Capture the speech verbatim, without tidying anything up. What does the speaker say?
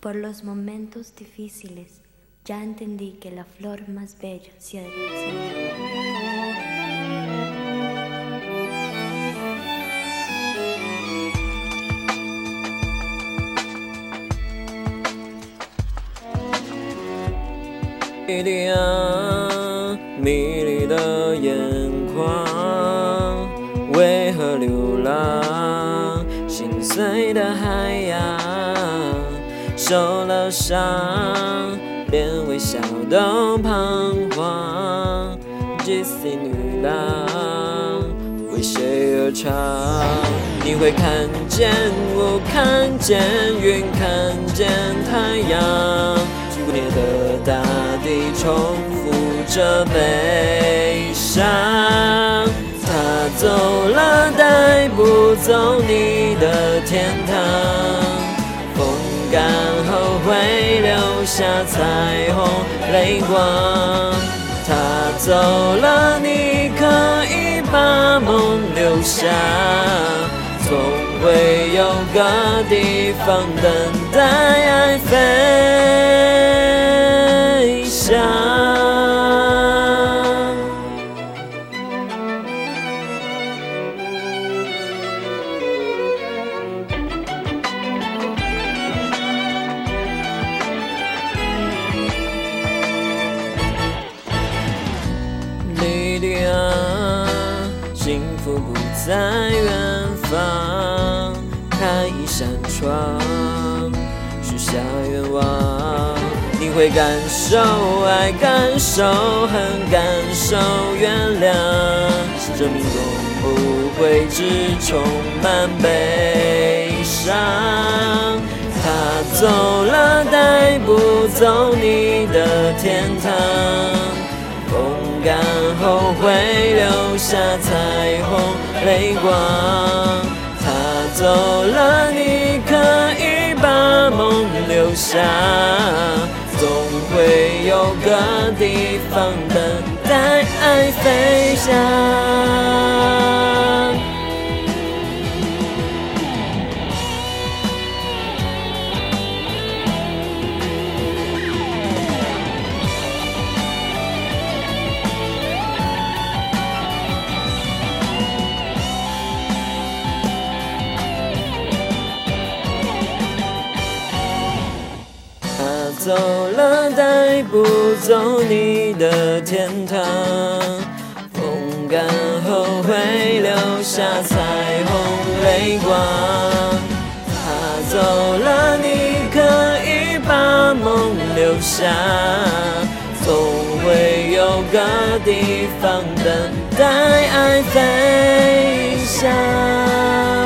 Por los momentos difíciles, ya entendí que la flor más bella se ha de 你的啊，迷离的眼眶，为何流浪？心碎的海洋，受了伤，连微笑都彷徨。即使女郎为谁而唱？你会看见我，看见云，看见太阳。不灭的大地重复着悲伤，他走了，带不走你的天堂。风干后会留下彩虹泪光，他走了，你可以把梦留下。总会有个地方等待爱飞翔。你的啊，幸福不在远方，开一扇窗，许下愿望。你会感受爱，感受恨，感受原谅。生命中不会只充满悲伤，他走了，带不走你的天堂。风干后会留下彩虹泪光，他走了，你可以把梦留下。总会有个地方等待爱飞翔。走了，带不走你的天堂。风干后会留下彩虹泪光，他走了，你可以把梦留下。总会有个地方等待爱飞翔。